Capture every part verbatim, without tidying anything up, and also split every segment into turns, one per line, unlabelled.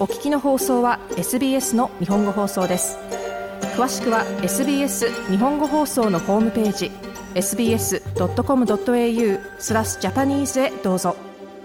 お聞きの放送は エスビーエス の日本語放送です。詳しくは エスビーエス 日本語放送のホームページ エスビーエスドットコムドットエーユー スラスジャパニーズへどうぞ。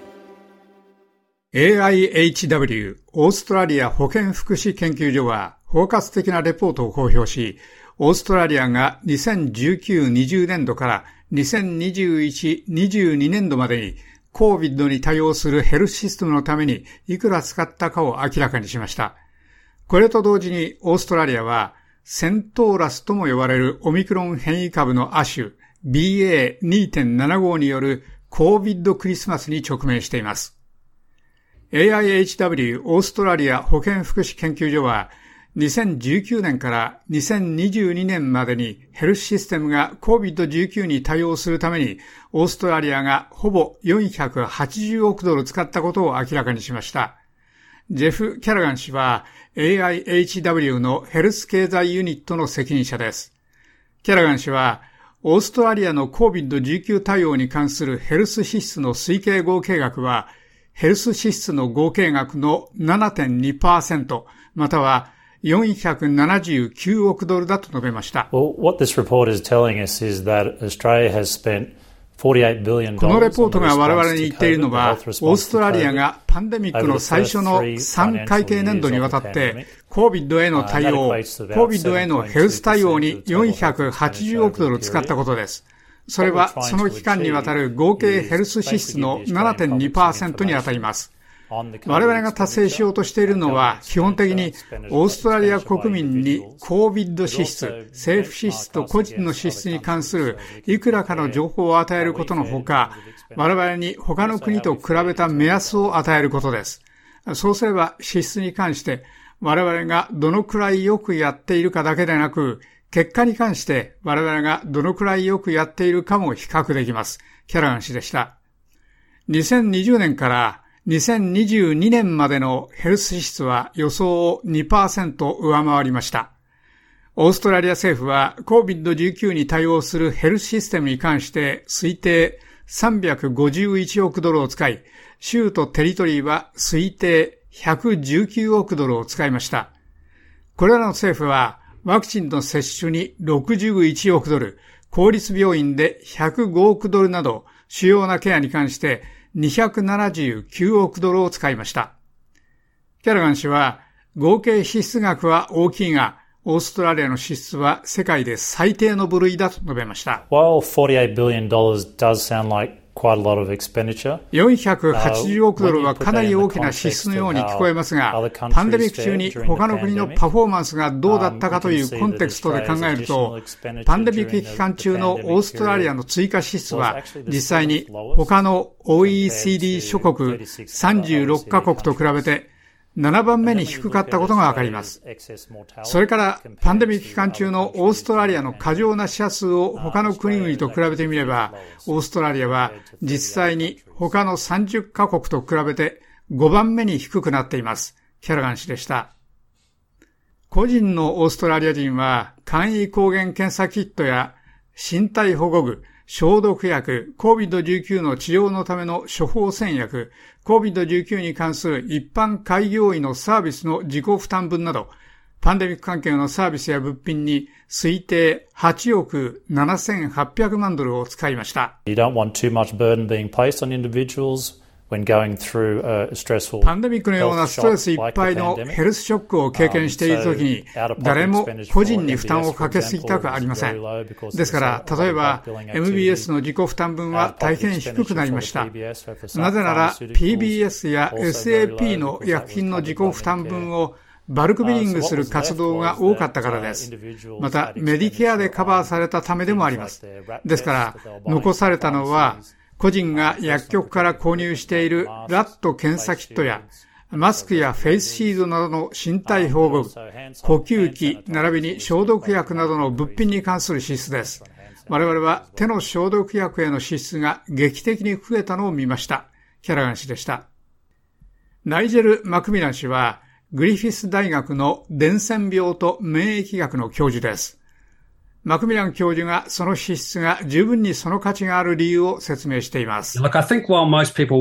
エーアイエイチダブリュー オーストラリア保健福祉研究所は包括的なレポートを公表し、オーストラリアがにせんじゅうきゅう、にじゅうねんどからにせんにじゅういち、にじゅうにねんどまでに コービッド に対応するヘルスシステムのためにいくら使ったかを明らかにしました。これと同時にオーストラリアはセントーラスとも呼ばれるオミクロン変異株の亜種 ビーエーにてんななご による コービッド クリスマスに直面しています。エーアイエイチダブリュー オーストラリア保健福祉研究所はにせんじゅうきゅうねんからにせんにじゅうにねんまでにヘルスシステムが コービッドじゅうきゅう に対応するためにオーストラリアがほぼよんひゃくはちじゅうおくドル使ったことを明らかにしました。ジェフ・キャラガン氏は エーアイエイチダブリュー のヘルス経済ユニットの責任者です。キャラガン氏はオーストラリアの コービッドじゅうきゅう 対応に関するヘルス支出の推計合計額はヘルス支出の合計額の ななてんにパーセント またはよんひゃくななじゅうきゅうおくドルだと述べました。
Well, what this report is telling us is that Australia has spent
このレポートが我々に言っているのは、オーストラリアがパンデミックの最初のさん会計年度にわたって、コービッド への対応、コービッド へのヘルス対応によんひゃくはちじゅうおくドル使ったことです。それはその期間にわたる合計ヘルス支出の ななてんにパーセント に当たります。我々が達成しようとしているのは基本的にオーストラリア国民に コービッド 支出、政府支出と個人の支出に関するいくらかの情報を与えることのほか、我々に他の国と比べた目安を与えることです。そうすれば支出に関して我々がどのくらいよくやっているかだけでなく、結果に関して我々がどのくらいよくやっているかも比較できます。キャラガン氏でした。にせんにじゅうねんからにせんにじゅうにねんまでのヘルス支出は予想を にパーセント 上回りました。オーストラリア政府は コービッドじゅうきゅう に対応するヘルスシステムに関して推定さんびゃくごじゅういちおくドルを使い、州とテリトリーは推定ひゃくじゅうきゅうおくドルを使いました。これらの政府はワクチンの接種にろくじゅういちおくドル、公立病院でひゃくごおくドルなど主要なケアに関してにひゃくななじゅうきゅうおくドルを使いました。キャラガン氏は合計支出額は大きいが、オーストラリアの支出は世界で最低の部類だと述べました。
While forty-eight billion dollars does sound like quite a lot of expenditure,
よんひゃくはちじゅうおくドルはかなり大きな支出のように聞こえますが、パンデミック中に他の国のパフォーマンスがどうだったかというコンテクストで考えると、パンデミック期間中のオーストラリアの追加支出は実際に他の オーイーシーディー 諸国さんじゅうろっかこくと比べてななばんめに低かったことがわかります。それからパンデミック期間中のオーストラリアの過剰な死者数を他の国々と比べてみれば、オーストラリアは実際に他のさんじゅっかこくと比べてごばんめに低くなっています。キャラガン氏でした。個人のオーストラリア人は簡易抗原検査キットや身体保護具、消毒薬、コービッドじゅうきゅう の治療のための処方箋薬、コービッドじゅうきゅう に関する一般開業医のサービスの自己負担分など、パンデミック関係のサービスや物品に推定はちおくななせんはっぴゃくまんドルを使いました。
You don't want too much burden being placed on individuals when going through a stressful
パンデミックのようなストレスいっぱいのヘルスショックを経験しているときに、誰も個人に負担をかけすぎたくありません。ですから、例えば エムビーエス の自己負担分は大変低くなりました。なぜなら ピービーエス や エスエーピー の薬品の自己負担分をバルクビリングする活動が多かったからです。また、メディケアでカバーされたためでもあります。ですから、残されたのは、個人が薬局から購入しているラット検査キットやマスクやフェイスシールドなどの身体保護具、呼吸器並びに消毒薬などの物品に関する支出です。我々は手の消毒薬への支出が劇的に増えたのを見ました。キャラガン氏でした。ナイジェル・マクミラン氏はグリフィス大学の伝染病と免疫学の教授です。マクミラン教授がその支出が十分にその価値がある理由を説明しています。
Look, I think while most people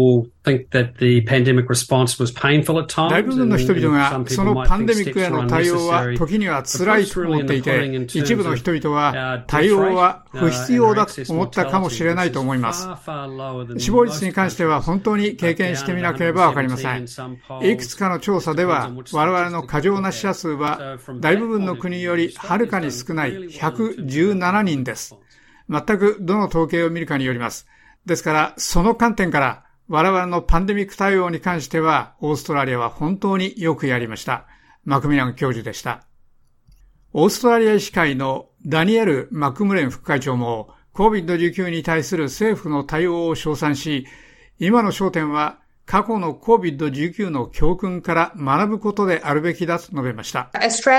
大部分の人々がそのパンデミックへの対応は時には辛いと思っていて、一部の人々は対応は不必要だと思ったかもしれないと思います。死亡率に関しては本当に経験してみなければわかりません。いくつかの調査では我々の過剰な死者数は大部分の国よりはるかに少ないひゃくじゅうななにんです。全くどの統計を見るかによります。ですからその観点から我々のパンデミック対応に関しては、オーストラリアは本当によくやりました。マクミラン教授でした。オーストラリア医師会のダニエル・マクムレン副会長も コービッドじゅうきゅう に対する政府の対応を称賛し、今の焦点は過去の コービッドじゅうきゅう の教訓から学ぶことであるべきだと述べました。オース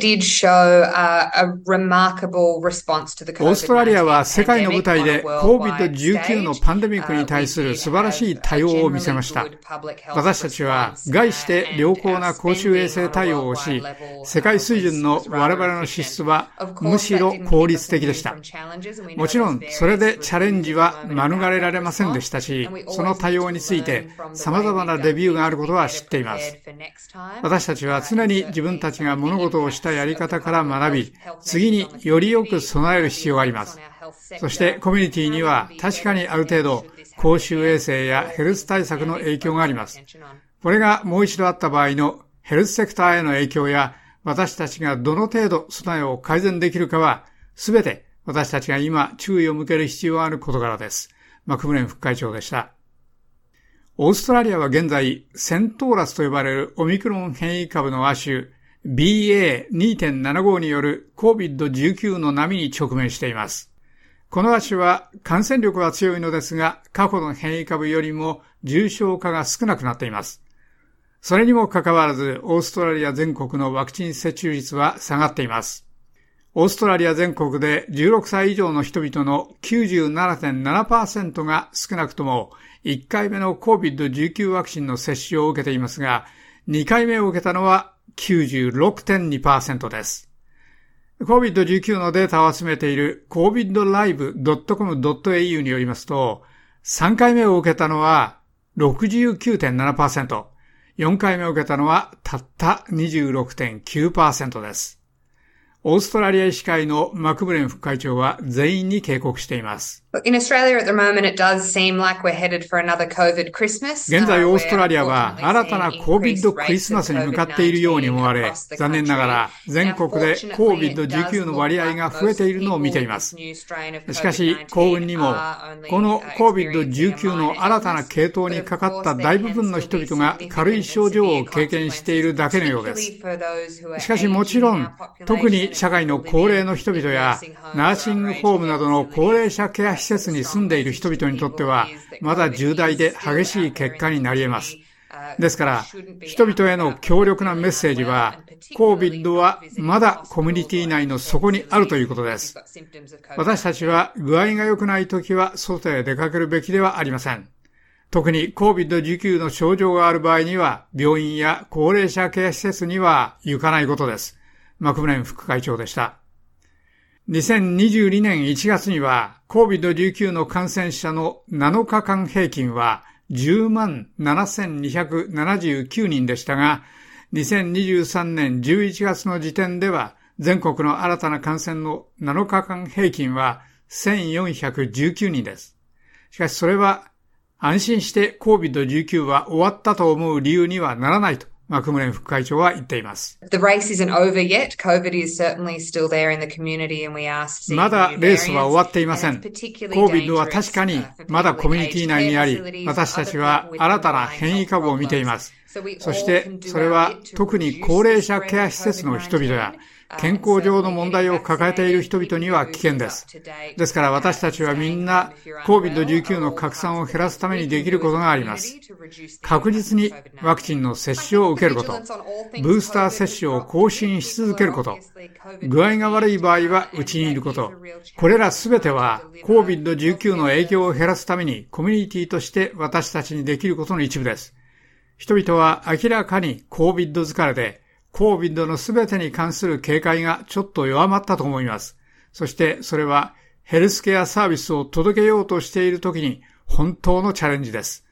トラリアは世界の舞台で コービッドじゅうきゅう のパンデミックに対する素晴らしい対応を見せました。私たちは概して良好な公衆衛生対応をし、世界水準の我々の支出はむしろ効率的でした。もちろんそれでチャレンジは免れられませんでしたし、その対応について様々なレビューがあることは知っています。私たちは常に自分たちが物事をしたやり方から学び、次によりよく備える必要があります。そしてコミュニティには確かにある程度公衆衛生やヘルス対策の影響があります。これがもう一度あった場合のヘルスセクターへの影響や私たちがどの程度備えを改善できるかはすべて私たちが今注意を向ける必要がある事柄です。マクムレン副会長でした。オーストラリアは現在、セントーラスと呼ばれるオミクロン変異株の亜種 ビーエーにてんななご による コービッドじゅうきゅう の波に直面しています。この亜種は感染力は強いのですが、過去の変異株よりも重症化が少なくなっています。それにもかかわらず、オーストラリア全国のワクチン接種率は下がっています。オーストラリア全国でじゅうろくさい以上の人々の きゅうじゅうななてんななパーセント が少なくともいっかいめの コービッドじゅうきゅう ワクチンの接種を受けていますが、にかいめを受けたのは きゅうじゅうろくてんにパーセント です。コービッドじゅうきゅう のデータを集めている コービッドライブドットコムドットエーユー によりますと、さんかいめを受けたのは ろくじゅうきゅうてんななパーセント、よんかいめを受けたのはたった にじゅうろくてんきゅうパーセント です。オーストラリア医師会のマクブレン副会長は全員に警告しています。
In Australia at the moment it does seem like we're headed for another COVID Christmas.
現在オーストラリアは新たな コービッド クリスマスに向かっているように思われ、残念ながら全国で コービッドじゅうきゅう の割合が増えているのを見ています。しかし幸運にも、この コービッドじゅうきゅう の新たな系統にかかった大部分の人々が軽い症状を経験しているだけのようです。しかしもちろん、特に社会の高齢の人々やナーシングホームなどの高齢者ケア施設に住んでいる人々にとってはまだ重大で激しい結果になり得ます。ですから人々への強力なメッセージは コービッド はまだコミュニティ内の底にあるということです。私たちは具合が良くないときは外へ出かけるべきではありません。特に コービッドじゅうきゅう の症状がある場合には病院や高齢者ケア施設には行かないことです。マクブレン副会長でした。にせんにじゅうにねんいちがつには コービッドじゅうきゅう の感染者のなのかかん平均はじゅうまんななせんにひゃくななじゅうきゅうにんでしたが、にせんにじゅうさんねんじゅういちがつの時点では全国の新たな感染のなのかかん平均はせんよんひゃくじゅうきゅうにんです。しかしそれは安心して コービッドじゅうきゅう は終わったと思う理由にはならないとマクムレン副会長は言っています。
The race isn't over yet. COVID is certainly still there in the community and we are seeing
まだレースは終わっていません。コービッド は確かにまだコミュニティ内にあり、私たちは新たな変異株を見ています。そしてそれは特に高齢者ケア施設の人々や健康上の問題を抱えている人々には危険です。ですから私たちはみんな コービッドじゅうきゅう の拡散を減らすためにできることがあります。確実にワクチンの接種を受けること、ブースター接種を更新し続けること、具合が悪い場合は家にいること、これらすべては コービッドじゅうきゅう の影響を減らすためにコミュニティとして私たちにできることの一部です。人々は明らかに コービッド 疲れでコービッド のすべてに関する警戒がちょっと弱まったと思います。そしてそれはヘルスケアサービスを届けようとしているときに本当のチャレンジです。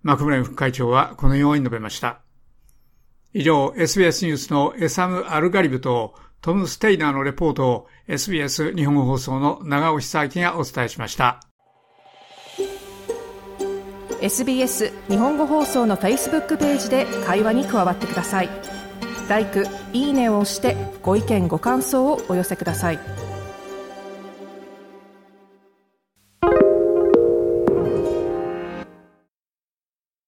マクブレン副会長はこのように述べました。以上、エスビーエス ニュースのエサム・アルガリブとトム・ステイナーのレポートを エスビーエス 日本語放送の長尾久明がお伝えしました。
エスビーエス 日本語放送の Facebook ページで会話に加わってください。ライク、いいねを押してご意見ご感想をお寄せください。